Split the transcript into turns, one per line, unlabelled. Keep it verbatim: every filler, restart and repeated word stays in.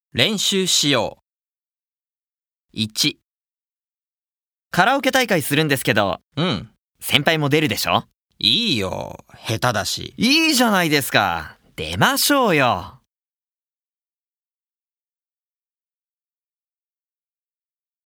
練習しよう。いち、カラオケ大会するんですけど、
うん。
先輩も出るでしょ？
いいよ。下手だし。
いいじゃないですか。出ましょうよ。